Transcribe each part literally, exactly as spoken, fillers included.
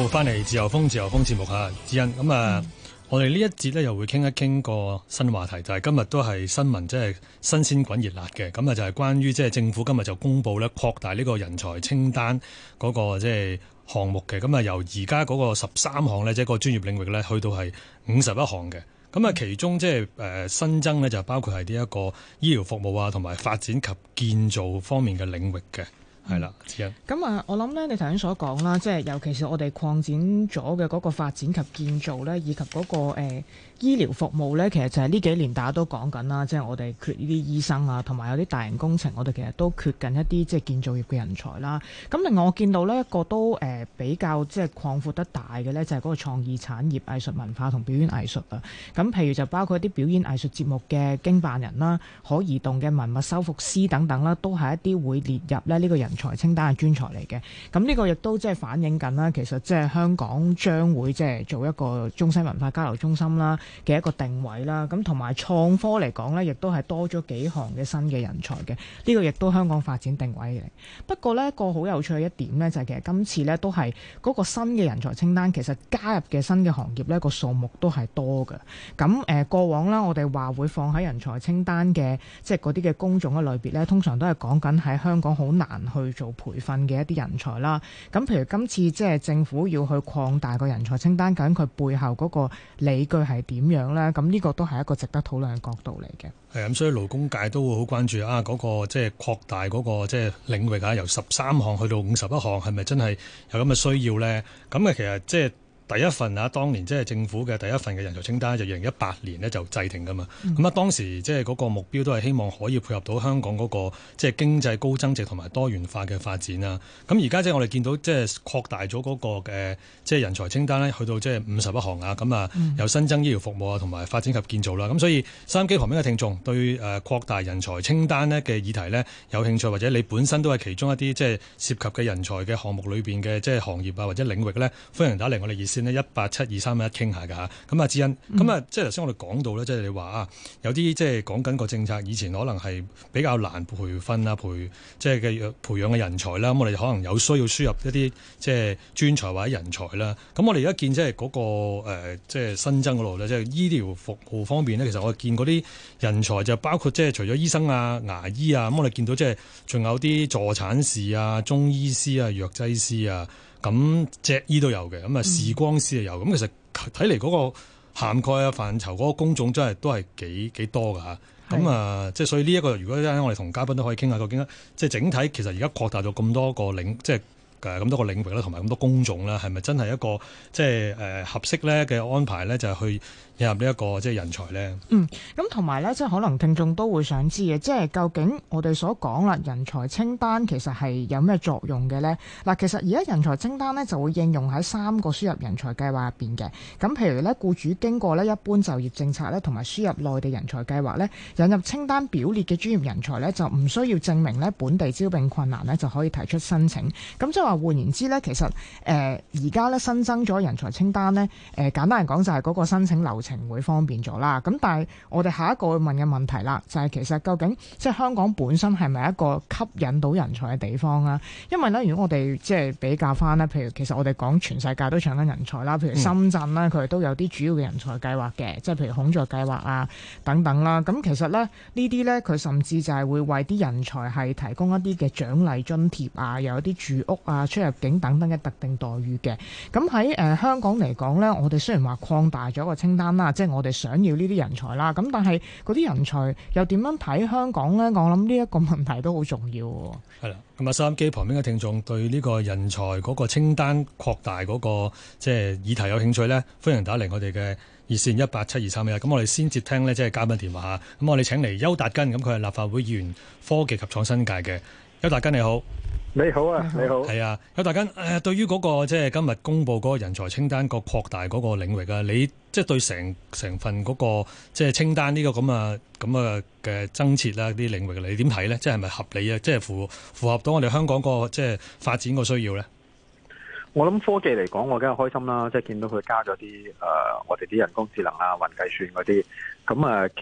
好，翻嚟自由風自由風節目嚇，智恩咁啊！嗯、我哋呢一節咧又會傾一傾個新話題，就係、是、今日都係新聞，即係新鮮滾熱辣嘅。咁啊，就係關於即係政府今日就公布咧擴大呢個人才清單嗰個即係項目嘅。咁啊，由而家嗰個十三項咧，即係個專業領域咧，去到係五十一項嘅。咁啊，其中即係誒新增咧，就包括係呢一個醫療服務啊，同埋發展及建造方面嘅領域嘅。係啦， 咁啊，我諗咧，你頭先所講啦，即係尤其是我哋擴展咗嘅嗰個發展及建造咧，以及嗰、那個誒、呃、醫療服務咧，其實就係呢幾年大家都講緊啦，即係我哋缺呢啲醫生啊，同埋有啲大型工程，我哋其實都缺緊一啲即係建造業嘅人才啦。咁另外我見到呢一個都誒、呃、比較即係擴闊得大嘅咧，就係、是、嗰個創意產業、藝術文化同表演藝術啊。咁譬如就包括一啲表演藝術節目嘅經辦人啦、可移動嘅文物修復師等等啦，都係一啲會列入咧呢個人人才清單嘅專才嚟嘅，咁呢個亦都即係反映緊啦。其實即係香港將會即係做一個中西文化交流中心啦嘅一個定位啦。咁同埋創科嚟講呢，亦都係多咗幾項嘅新嘅人才嘅。呢個亦都香港發展定位嚟。不過呢，一個好有趣嘅一點呢，就係其實今次呢都係嗰個新嘅人才清單，其實加入嘅新嘅行業呢個數目都係多嘅。咁誒過往啦，我哋話會放喺人才清單嘅即係嗰啲嘅工種嘅類別呢，通常都係講緊喺香港好難去去做培訓嘅一啲人才啦，咁譬如今次即係政府要去擴大個人才清單，究竟佢背後嗰個理據係點樣呢？咁呢個都係一個值得討論嘅角度嚟嘅。係咁，所以勞工界都會好關注啊！嗰、嗰個即係擴大嗰個即係領域啊，由十三項去到五十一項，係咪真係有咁嘅需要呢？咁啊，其實即係。第一份啊，當年即係政府嘅第一份嘅人才清單就二零一八年呢就制定噶嘛。咁啊、嗯、當時即係嗰個目標都係希望可以配合到香港嗰個即係經濟高增值同埋多元化嘅發展啦。咁而家即係我哋見到即係擴大咗嗰個嘅即係人才清單咧，去到即係五十一項啊。咁啊有新增醫療服務啊，同埋發展及建造啦。咁所以收音機旁邊嘅聽眾對誒擴大人才清單呢嘅議題呢有興趣，或者你本身都係其中一啲即係涉及嘅人才嘅項目裏邊嘅即係行業啊或者領域呢，歡迎打嚟我哋熱線一八七二三一傾下㗎嚇。咁啊，智恩，咁啊、嗯，即係頭先我哋講到咧，即係你話啊，有啲即係講緊個政策，以前可能係比較難培訓啊，培即係嘅培養嘅人才啦。咁我哋可能有需要輸入一啲即係專才或者人才啦。咁我哋而家見即係嗰個誒即係新增嗰度咧，即係醫療服務方面咧，其實我哋見嗰啲人才就包括即係除咗醫生啊、牙醫啊，咁我哋見到即係仲有啲助產士啊、中醫師啊、藥劑師啊。咁脊醫都有嘅，咁啊視光師又有，咁、嗯、其實睇嚟嗰個涵蓋啊範疇嗰個工種真係都係幾幾多㗎嚇。咁啊即係所以呢、這、一個如果我哋同嘉賓都可以傾下，究竟即係整體其實而家擴大咗咁多個領，即係誒咁多個領域啦，同埋咁多工種啦，係咪真係一個即係誒合適咧嘅安排咧？就係、是、去引入呢一個即係人才咧。 嗯，咁同埋咧，即係可能聽眾都會想知嘅，即係究竟我哋所講啦，人才清單其實係有咩作用嘅咧？嗱，其實而家人才清單咧就會應用喺三個輸入人才計劃入邊嘅。咁譬如咧，僱主經過咧一般就業政策咧，同埋輸入內地人才計劃咧，引入清單表列嘅專業人才咧，就唔需要證明咧本地招聘困難咧，就可以提出申請。咁即係話換言之咧，其實誒而家咧新增咗人才清單咧，誒、呃、簡單嚟講就係嗰個申請流程會方便咗啦。咁但係我哋下一個會問嘅問題啦，就係、是、其實究竟即係香港本身係咪一個吸引到人才嘅地方啊？因為咧，如果我哋即係比較翻咧，譬如其實我哋講全世界都搶緊人才啦，譬如深圳咧，佢哋都有啲主要嘅人才計劃嘅，即係譬如孔雀計劃啊等等啦。咁其實咧呢啲咧佢甚至就係會為啲人才係提供一啲嘅獎勵津貼啊，又有啲住屋啊、出入境等等嘅特定待遇嘅。咁喺誒香港嚟講咧，我哋雖然話擴大咗個清單啦，即係我哋想要呢啲人才啦，咁但係嗰啲人才又點樣睇香港咧？我諗呢一個問題都好重要喎。 係啦，咁啊收音機旁邊嘅聽眾對呢個人才嗰個清單擴大嗰個即係議題有興趣咧，歡迎打嚟我哋嘅熱線一八七二三一。咁我哋先接聽咧，即係嘉賓電話嚇。咁我哋請嚟邱達根，咁佢係立法會議員，科技及創新界嘅。邱達根你好。 你好啊，你好。 係啊，邱達根誒，對於嗰個即係今日公布嗰個人才清單個擴大嗰個領域啊，你即係對成成份嗰個即係清單呢個咁啊咁啊嘅增設啦啲領域，你點睇咧？即係咪合理啊？即係符符合到我哋香港個即係發展個需要咧？ 我諗科技嚟講，我梗係開心啦，即係見到佢加咗啲誒，我哋啲人工智能啊、雲計算嗰啲，咁啊，其實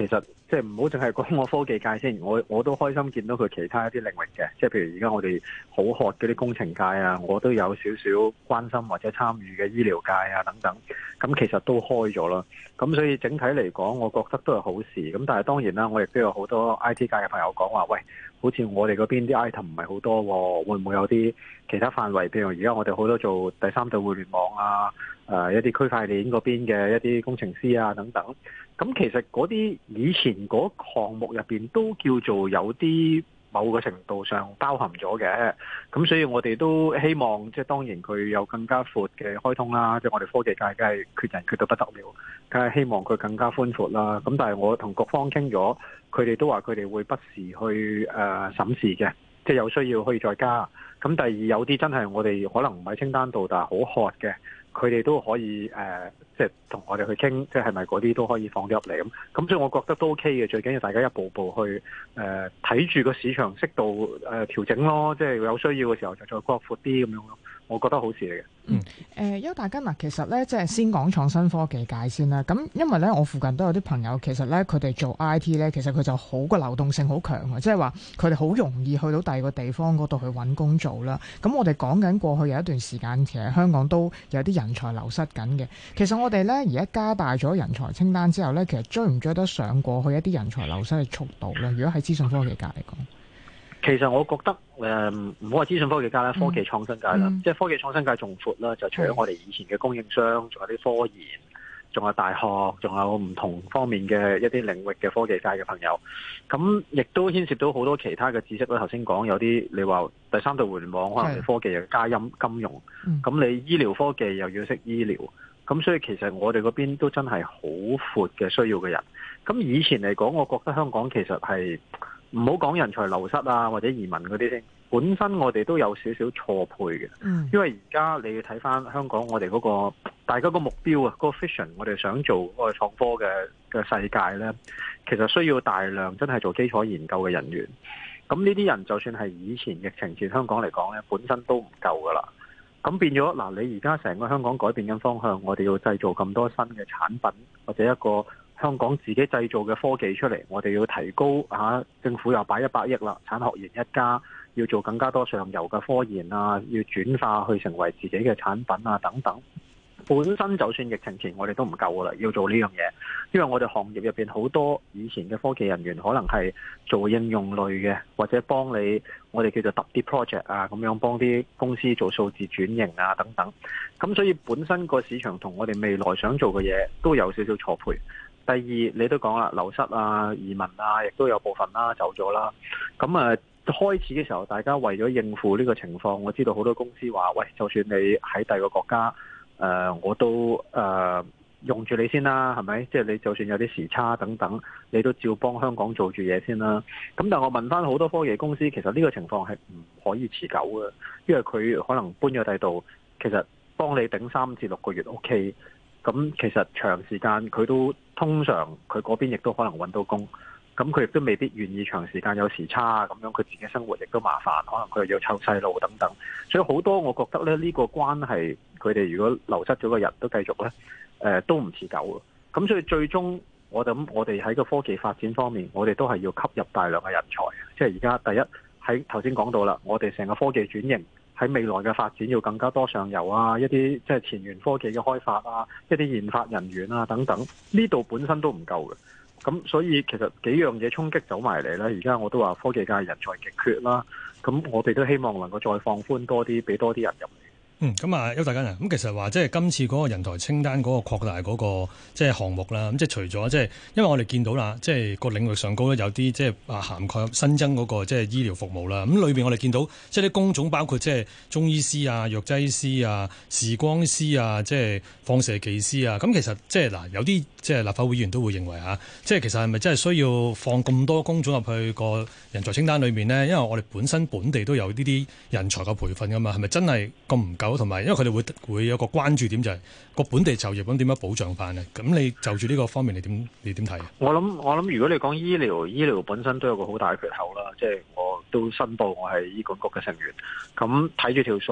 即係唔好淨係講我科技界先，我我都開心見到佢其他一啲領域嘅，即係譬如而家我哋好渴嗰啲工程界啊，我都有少少關心或者參與嘅醫療界啊等等，咁其實都開咗啦。咁所以整體嚟講，我覺得都係好事。咁但係當然啦，我亦都有好多 I T 界嘅朋友講話，喂，好似我哋嗰邊啲 item 唔係好多喎，會唔會有啲其他範圍？譬如而家我哋好多做第三代互聯網啊，誒一啲區塊鏈嗰邊嘅一啲工程師啊等等。咁其實嗰啲以前嗰項目入邊都叫做有啲某個程度上包含咗嘅，咁所以我哋都希望即係當然佢有更加闊嘅開通啦，即係我哋科技界梗係缺人缺到不得了，梗係希望佢更加寬闊啦。咁但係我同各方傾咗，佢哋都話佢哋會不時去誒審視嘅，即係有需要可以再加。咁第二有啲真係我哋可能唔喺清單度，但係好渴嘅，佢哋都可以誒。呃即係同我哋去傾，即係係咪嗰啲都可以放咗入嚟咁？咁所以我覺得都 OK 嘅。最緊要大家一步步去誒睇住個市場適度誒、呃、調整咯。即係有需要嘅時候就再擴闊啲咁樣咯。我覺得好事嚟嘅。 嗯，誒、呃，邱大根嗱，其實咧，即係先講創新科技界先啦。咁因為咧，我附近都有啲朋友，其實咧，佢哋做 I T 咧，其實佢就好個流動性好強嘅，即係話佢哋好容易去到第二個地方嗰度去揾工做啦。咁我哋講緊過去有一段時間，其實香港都有啲人才流失緊嘅。其實我哋咧而家加大咗人才清單之後咧，其實追唔追得上過去一啲人才流失嘅速度咧？如果喺資訊科技界嚟講。 其實我覺得誒唔好話資訊科技界啦，科技創新界啦，嗯、即係科技創新界仲闊啦。就除咗我哋以前嘅供應商，仲有啲科研，仲有大學，仲有唔同方面嘅一啲領域嘅科技界嘅朋友。咁亦都牽涉到好多其他嘅知識啦。頭先講有啲你話第三代互聯網，可能科技又加音金融，咁、嗯、你醫療科技又要識醫療。咁所以其實我哋嗰邊都真係好闊嘅需要嘅人。咁以前嚟講，我覺得香港其實係。唔好講人才流失啊，或者移民嗰啲先。本身我哋都有少少錯配嘅，嗯、因為而家你要睇翻香港我哋嗰、嗰個大家個目標啊，嗰、嗰個 vision，我哋想做嗰個創科嘅嘅世界呢，其實需要大量真係做基礎研究嘅人員。咁呢啲人就算係以前疫情前香港嚟講呢，本身都唔夠噶啦。咁變咗嗱，你而家成個香港改變緊方向，我哋要製造咁多新嘅產品或者一個。香港自己製造嘅科技出嚟，我哋要提高嚇、啊，政府又擺一百億啦，產學研一家要做更加多上游嘅科研啊，要轉化去成為自己嘅產品啊等等。本身就算疫情前我哋都唔夠噶啦，要做呢樣嘢，因為我哋行業入邊好多以前嘅科技人員可能係做應用類嘅，或者幫你我哋叫做揼啲 project 啊，咁樣幫啲公司做數字轉型啊等等。咁所以本身個市場同我哋未來想做嘅嘢都有少少錯配。第二，你都講啦，流失啊、移民啊，亦都有部分啦走咗啦。咁啊，開始嘅時候，大家為咗應付呢個情況，我知道好多公司話，喂，就算你喺第二個國家，誒、呃，我都誒、呃、用住你先啦，係咪？即係你就算有啲時差等等，你都照幫香港做住嘢先啦。咁但係我問翻好多科技公司，其實呢個情況係唔可以持久嘅，因為佢可能搬咗第度，其實幫你頂三至六個月 OK。咁其實長時間佢都通常佢嗰邊亦都可能揾到工，咁佢亦都未必願意長時間有時差咁樣，佢自己生活亦都麻煩，可能佢又要湊細路等等，所以好多我覺得咧呢個關係，佢哋如果流失咗個人都繼續咧，誒、呃、都唔持久嘅。咁所以最終我諗我哋喺個科技發展方面，我哋都係要吸入大量嘅人才，即係而家第一喺頭先講到啦，我哋成個科技轉型。喺未來嘅發展要更加多上游啊，一啲即係前沿科技嘅開發啊，一啲研發人員啊等等，呢度本身都唔夠嘅。咁所以其實幾樣嘢衝擊走埋嚟咧，而家我都話科技界人才極缺啦。咁我哋都希望能夠再放寬多啲，俾多啲人入嚟。 嗯，咁啊，邱大根啊，咁其實話即係今次嗰個人才清單嗰個擴大嗰個即係項目啦，咁即係除咗即係，因為我哋見到啦，即係個領域上高咧有啲即係啊涵蓋新增嗰個即係醫療服務啦，咁裏邊我哋見到即係啲工種包括即係中醫師啊、藥劑師啊、視光師啊、即係放射技師啊，咁其實即係嗱有啲即係立法會議員都會認為嚇，即係其實係咪真係需要放咁多工種入去個人才清單裏面呢？因為我哋本身本地都有呢啲人才嘅培訓噶嘛，係咪真係咁唔夠？同埋，因為佢哋會會有個關注點就係個本地就業咁點樣保障翻咧？咁你就住呢個方面，你點你點睇？ 我諗我諗，如果你講醫療，醫療本身都有個好大嘅缺口啦。即係我都申報我係醫管局嘅成員，咁睇住條數，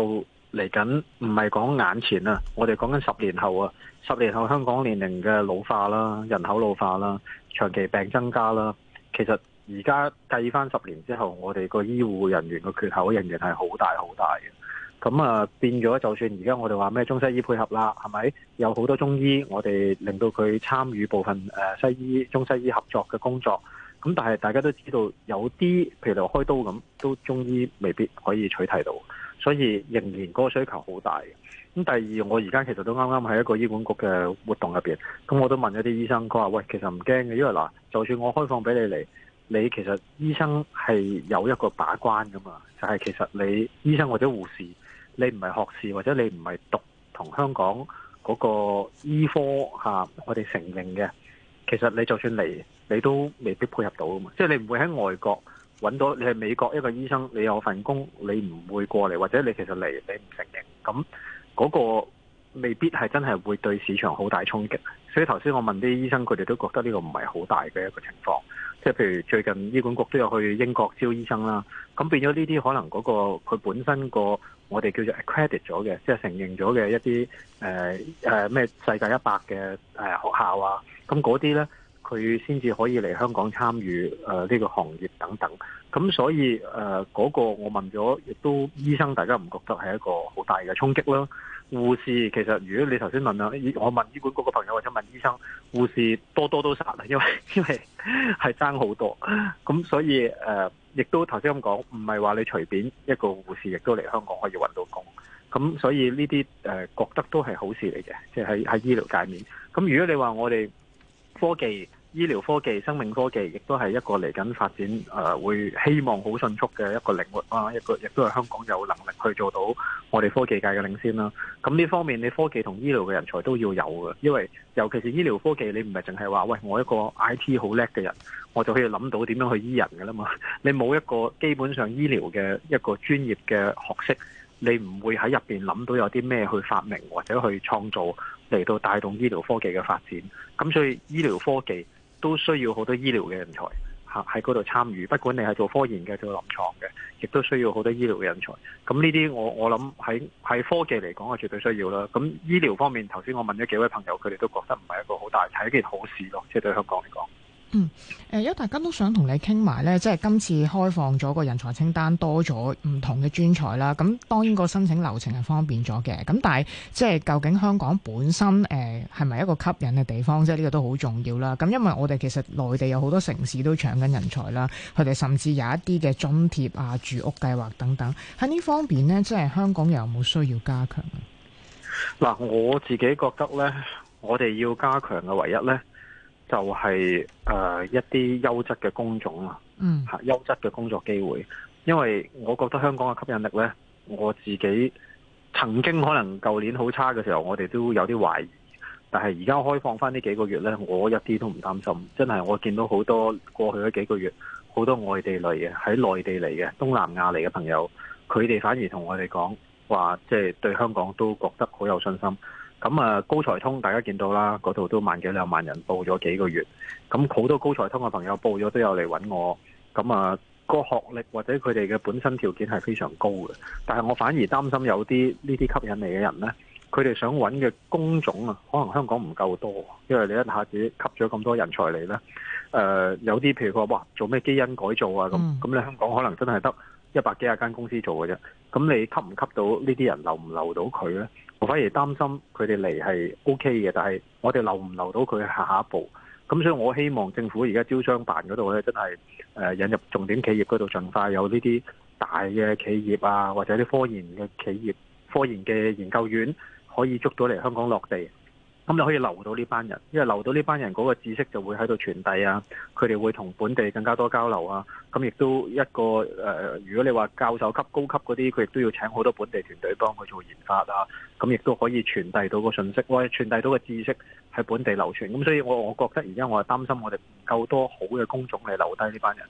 嚟緊唔係講眼前啊，我哋講緊十年後啊，十年後香港年齡嘅老化啦，人口老化啦，長期病增加啦，其實而家計翻十年之後，我哋個醫護人員嘅缺口仍然係好大好大嘅。咁啊，變咗就算而家我哋話咩中西醫配合啦，係咪有好多中醫，我哋令到佢參與部分誒西醫中西醫合作嘅工作。咁但係大家都知道有啲譬如你話開刀咁，都中醫未必可以取替到，所以仍然嗰個需求好大嘅。咁第二，我而家其實都啱啱喺一個醫管局嘅活動入邊，咁我都問咗啲醫生，佢話喂，其實唔驚嘅，因為嗱，就算我開放俾你嚟，你其實醫生係有一個把關噶嘛，就係其實你醫生或者護士，你唔係學士或者你唔係讀同香港嗰個醫科嚇，我哋承認嘅，其實你就算嚟，你都未必配合到啊嘛。即係你唔會喺外國揾到，你係美國一個醫生，你有份工，你唔會過嚟，或者你其實嚟你唔承認，咁嗰個未必係真係會對市場好大衝擊。所以頭先我問啲醫生，佢哋都覺得呢個唔係好大嘅一個情況。即係譬如最近醫管局都有去英國招醫生啦，咁變咗呢啲可能嗰個佢本身個我哋叫做 accredit 咗嘅，即係承認咗嘅一啲誒誒咩世界一百嘅誒學校啊，咁嗰啲咧佢先至可以嚟香港參與誒呢個行業等等。咁所以誒嗰個我問咗，亦都醫生大家唔覺得係一個好大嘅衝擊啦。護士其實如果你頭先問啦，我問醫管局嘅朋友或者問醫生，護士多多都殺啦，因為因為係爭好多。咁所以誒，亦都頭先咁講，唔係話你隨便一個護士亦都嚟香港可以揾到工。咁所以呢啲誒覺得都係好事嚟嘅，即係喺喺醫療界面。咁如果你話我哋科技、醫療科技、生命科技，亦都係一個嚟緊發展誒、呃，會希望好迅速嘅一個領域啊！一個亦都係香港有能力去做到我哋科技界嘅領先啦。咁呢方面，你科技同醫療嘅人才都要有嘅，因為尤其是醫療科技，你唔係淨係話喂，我一個 I T 好叻嘅人，我就可以諗到點樣去醫人㗎啦嘛。你冇一個基本上醫療嘅一個專業嘅學識，你唔會喺入邊諗到有啲咩去發明或者去創造嚟到帶動醫療科技嘅發展。咁所以醫療科技都需要好多醫療嘅人才嚇喺嗰度參與，不管你係做科研嘅、做臨床嘅，亦都需要好多醫療嘅人才。咁呢啲我我諗喺喺科技嚟講係絕對需要啦。咁醫療方面，頭先我問咗幾位朋友，佢哋都覺得唔係一個好大，係一件好事咯，即係對香港嚟講。 嗯，誒，有大家都想同你傾埋咧，即係今次開放咗個人才清單，多咗唔同嘅專才啦。咁當然個申請流程係方便咗嘅。咁但係即係究竟香港本身誒係咪一個吸引嘅地方？即係呢個都好重要啦。咁因為我哋其實內地有好多城市都搶緊人才啦，佢哋甚至有一啲嘅津貼啊、住屋計劃等等。喺呢方面呢，即係香港又有冇需要加強啊？ 嗱，我自己覺得咧，我哋要加強嘅唯一咧，就係、是、誒、呃、一啲優質嘅工種啊， 嗯， 嚇優質嘅工作機會。因為我覺得香港嘅吸引力咧，我自己曾經可能舊年好差嘅時候，我哋都有啲懷疑。但係而家開放翻呢幾個月咧，我一啲都唔擔心。真係我見到好多過去嗰幾個月，好多外地嚟嘅喺內地嚟嘅東南亞嚟嘅朋友，佢哋反而同我哋講話，即係對香港都覺得好有信心。咁啊，高才通大家見到啦，嗰度都萬幾兩萬人報咗幾個月，咁好多高才通嘅朋友報咗都有嚟揾我。咁啊，個學歷或者佢哋嘅本身條件係非常高嘅，但係我反而擔心有啲呢啲吸引嚟嘅人呢，佢哋想揾嘅工種啊，可能香港唔夠多，因為你一下子吸咗咁多人才嚟呢。誒、呃、有啲譬如佢話哇做咩基因改造啊，咁咁你香港可能真係得一百幾廿間公司做嘅啫，咁你吸唔吸到呢啲人，留唔留到佢呢？我反而擔心佢哋嚟係 O K 嘅，但係我哋留唔留到佢下下一步。咁所以我希望政府而家招商辦嗰度咧，真係誒引入重點企業嗰度，盡快有呢啲大嘅企業啊，或者啲科研嘅企業、科研嘅研究院可以捉到嚟香港落地。咁你可以留到呢班人，因為留到呢班人嗰個知識就會喺度傳遞啊，佢哋會同本地更加多交流啊。咁亦都一個誒、呃，如果你話教授級、高級嗰啲，佢亦都要請好多本地團隊幫佢做研發啊。咁亦都可以傳遞到個信息，或者傳遞到個知識喺本地流傳。咁所以我我覺得而家我係擔心我哋唔夠多好嘅工種嚟留低呢班人。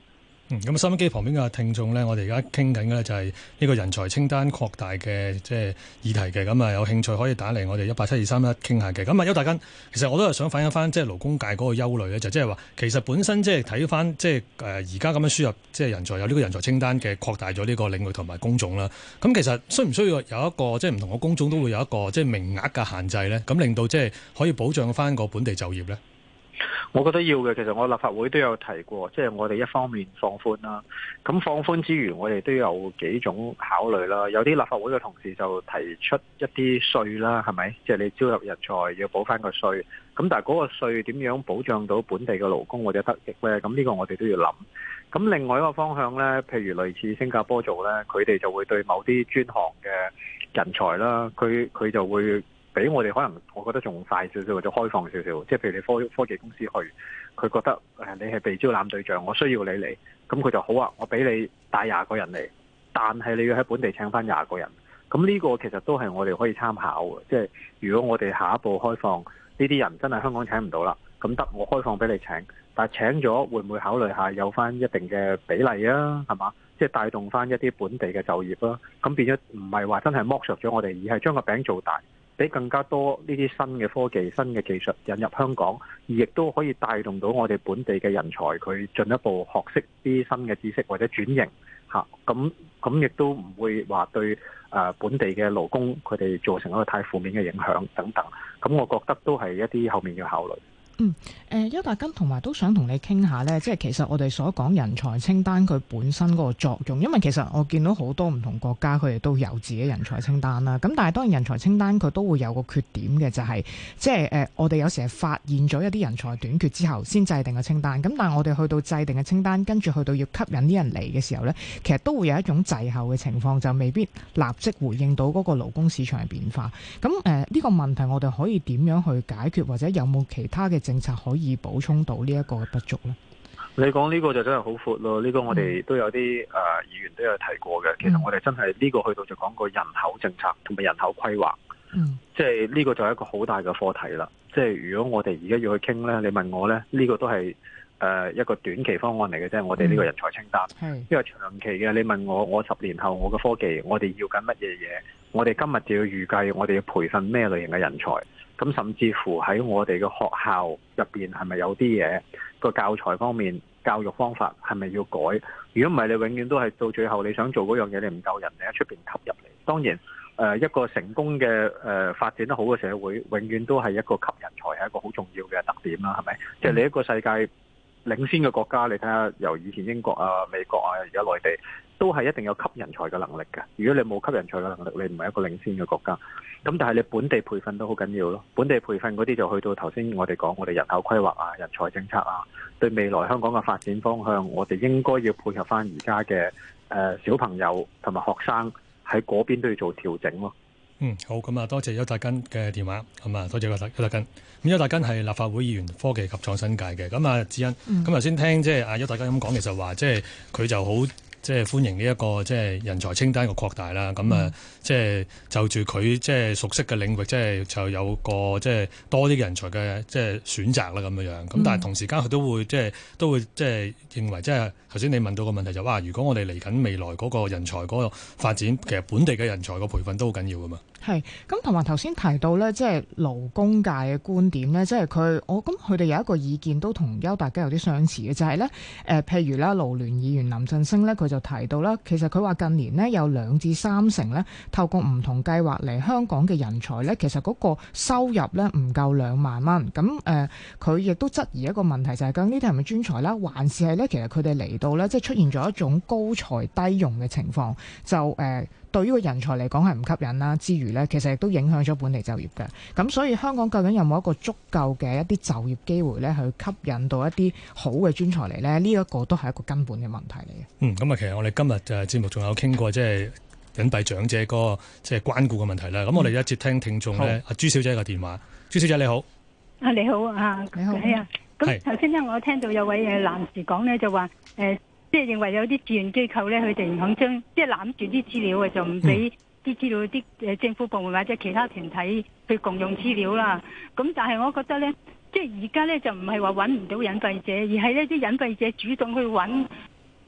嗯，咁收音機旁邊嘅聽眾呢，我哋而家傾緊嘅呢就係呢個人才清單擴大嘅即係議題嘅，咁啊有興趣可以打嚟我哋一八七二三一傾下嘅。咁啊邱達根，其實我都係想反映翻即係勞工界嗰個憂慮咧，就即係話其實本身即係睇翻即係誒而家咁樣輸入即係人才有呢個人才清單嘅擴大咗呢個領域同埋工種啦。咁其實需唔需要有一個即係唔同嘅工種都會有一個即係名額嘅限制咧？咁令到即係可以保障翻個本地就業咧？ 我覺得要嘅，其實我立法會都有提過，即係我哋一方面放寬啦，咁放寬之餘，我哋都有幾種考慮啦。有啲立法會嘅同事就提出一啲稅啦，係咪？即係你招入人才要補翻個稅，咁但係嗰個稅點樣保障到本地嘅勞工或者得益呢？咁呢個我哋都要諗。咁另外一個方向呢，譬如類似新加坡做呢，佢哋就會對某啲專項嘅人才啦，佢佢就會比我哋可能，我覺得仲快少少或者開放少少，即係譬如你科科技公司去，佢覺得誒你係被招攬對象，我需要你嚟，咁佢就好啊，我俾你帶廿個人嚟，但係你要喺本地請翻廿個人，咁呢個其實都係我哋可以參考嘅，即係如果我哋下一步開放呢啲人真係香港請唔到啦，咁得我開放俾你請，但係請咗會唔會考慮下有翻一定嘅比例啊？係嘛？即係帶動翻一啲本地嘅就業啦，咁變咗唔係話真係剝削咗我哋，而係將個餅做大。俾更加多呢啲新嘅科技、新嘅技術引入香港，而亦都可以帶動到我哋本地嘅人才，佢進一步學識啲新嘅知識或者轉型嚇，咁咁亦都唔會話對誒本地嘅勞工佢哋造成一個太負面嘅影響等等。咁我覺得都係一啲後面要考慮。 嗯，誒邱達根同埋都想同你傾下呢，即係其實我哋所講人才清單佢本身嗰個作用，因為其實我見到好多唔同國家佢哋都有自己人才清單啦。咁但係當然人才清單佢都會有個缺點嘅，就係即係誒我哋有時係發現咗一啲人才短缺之後先制定嘅清單。咁但係我哋去到制定嘅清單，跟住去到要吸引啲人嚟嘅時候呢，其實都會有一種滯後嘅情況，就未必立即回應到嗰個勞工市場嘅變化。咁誒呢個問題我哋可以點樣去解決，或者有冇其他嘅政策可以補充到呢一個不足呢？ 你講呢個就真係好闊咯，呢、這個我哋都有啲誒、呃、議員都有提過嘅。其實我哋真係呢個去到就講個人口政策同埋人口規劃，嗯，即係呢個就係一個好大嘅課題啦。即係如果我哋而家要去傾呢，你問我呢，呢、這個都係誒、呃、一個短期方案嚟嘅啫。我哋呢個人才清單，嗯、因為長期嘅，你問我，我十年後我嘅科技，我哋要緊乜嘢嘢？我哋今日就要預計，我哋要培訓咩類型嘅人才？咁甚至乎喺我哋嘅學校入邊係咪有啲嘢個教材方面、教育方法係咪要改？如果唔係，你永遠都係到最後你想做嗰樣嘢，你唔夠人，你喺出邊吸入嚟。當然，誒、呃、一個成功嘅誒、呃、發展得好嘅社會，永遠都係一個吸人才係一個好重要嘅特點啦，係咪？即係、嗯、你一個世界領先嘅國家，你睇下由以前英國啊、美國啊，而家內地都係一定有吸人才嘅能力嘅。如果你冇吸人才嘅能力，你唔係一個領先嘅國家。咁但係你本地培訓都好緊要咯，本地培訓嗰啲就去到頭先我哋講我哋人口規劃啊、人才政策啊，對未來香港嘅發展方向，我哋應該要配合翻而家嘅誒小朋友同埋學生喺嗰邊都要做調整咯。 嗯，好，咁啊，多謝邱達根嘅電話，咁啊，多謝邱達根。咁邱達根係立法會議員，科技及創新界嘅。咁啊，智恩，咁頭先聽即係阿邱達根咁講，其實話即係佢就好。即係歡迎呢一個即係人才清單嘅擴大啦，咁啊、嗯，即係就住佢即係熟悉嘅領域，即係就有個即係多啲嘅人才嘅即係選擇啦，咁樣樣。咁但係同時間佢都會即係都會即係認為，即係頭先你問到個問題就話，如果我哋嚟緊未來嗰個人才嗰個發展，其實本地嘅人才個培訓都好緊要噶嘛。 係，咁同埋頭先提到咧，即係勞工界嘅觀點咧，即係佢我咁佢哋有一個意見都同邱達根有啲相似嘅，就係咧誒，譬如啦，勞聯議員林振昇咧，佢就提到啦，其實佢話近年呢，有兩至三成咧透過唔同計劃嚟香港嘅人才咧，其實嗰個收入咧唔夠兩萬蚊。咁誒，佢、呃、亦都質疑一個問題，就係究竟呢啲係咪專才啦，還是係咧其實佢哋嚟到咧，即係出現咗一種高才低用嘅情況，就誒。呃對於個人才嚟講係唔吸引啦，之餘呢，其實亦都影響咗本地就業嘅。咁所以香港究竟有冇一個足夠嘅一啲就業機會呢？去吸引到一啲好嘅專才嚟呢？呢、這、一個都係一個根本嘅問題嚟嘅。嗯， 咁啊，其實我哋今日誒節目仲有傾過即係隱蔽長者嗰個即係關顧嘅問題啦。咁、嗯、我哋一接聽聽眾呢，阿朱小姐嘅電話。朱小姐你好。 啊你好啊， 你好。 係啊。咁頭先咧，我聽到有位誒男士講呢，就話誒。呃即係認為有啲志願機構咧，佢哋唔肯將即係攬住啲資料嘅，就唔俾啲資料啲誒政府部門或者其他團體去共用資料啦。咁但係我覺得咧，即係而家咧就唔係話揾唔到隱蔽者，而係呢啲隱蔽者主動去揾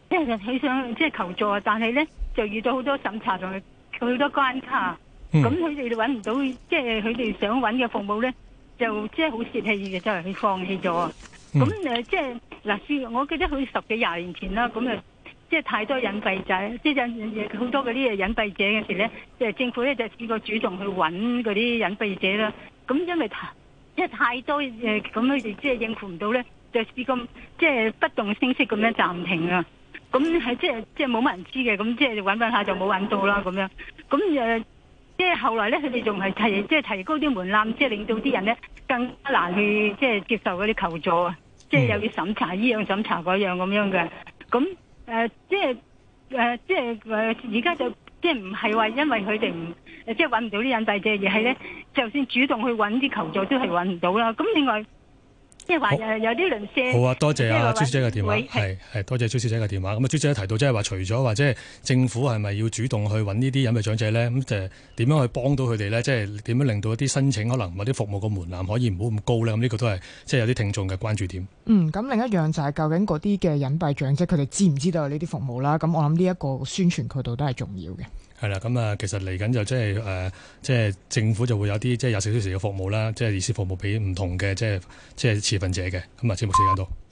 即係佢想即係求助啊，但係咧就遇到好多審查同埋好多關卡，咁佢哋揾唔到，即係佢哋想揾嘅服務咧，就即係好泄氣嘅，就係佢放棄咗啊。咁誒即係嗱，試我記得佢十幾廿年前啦，咁誒即係太多隱蔽仔，即係好多嗰啲隱蔽者嘅時咧，即係政府咧就試過主動去揾嗰啲隱蔽者啦。咁因為太即係太多誒，咁佢哋即係應付唔到咧，就試過即係不動聲色咁樣暫停啊。咁係即係即係冇乜人知嘅，咁即係揾揾下就冇揾到啦咁樣。咁誒即係後來咧，佢哋仲係提即係提高啲門檻，即係令到啲人咧更加難去即係接受嗰啲求助啊！即係又要審查依樣審查嗰樣咁樣嘅。咁誒、呃、即係誒、呃、即係誒而家就即係唔係話因為佢哋唔誒即係揾唔到啲隱蔽者，而係咧就算主動去揾啲求助都係揾唔到啦。咁另外。即係話誒有啲鄰舍好啊，多謝啊朱小姐嘅電話，係係多謝朱小姐嘅電話。咁啊，朱小姐提到即係話，除咗話即係政府係咪要主動去揾呢啲隱蔽長者咧？咁就點樣去幫到佢哋咧？即係點樣令到一啲申請可能或者服務個門檻可以唔好咁高咧？咁呢個都係即係有啲聽眾嘅關注點。 嗯，咁另一樣就係究竟嗰啲嘅隱蔽長者佢哋知唔知道有呢啲服務啦？咁我諗呢一個宣傳渠道都係重要嘅。係啦，咁啊，其實嚟緊就即係誒，即係政府就會有啲即係廿四小時嘅服務啦，即係意思服務俾唔同嘅即係即係持份者嘅。咁啊，節目時間到。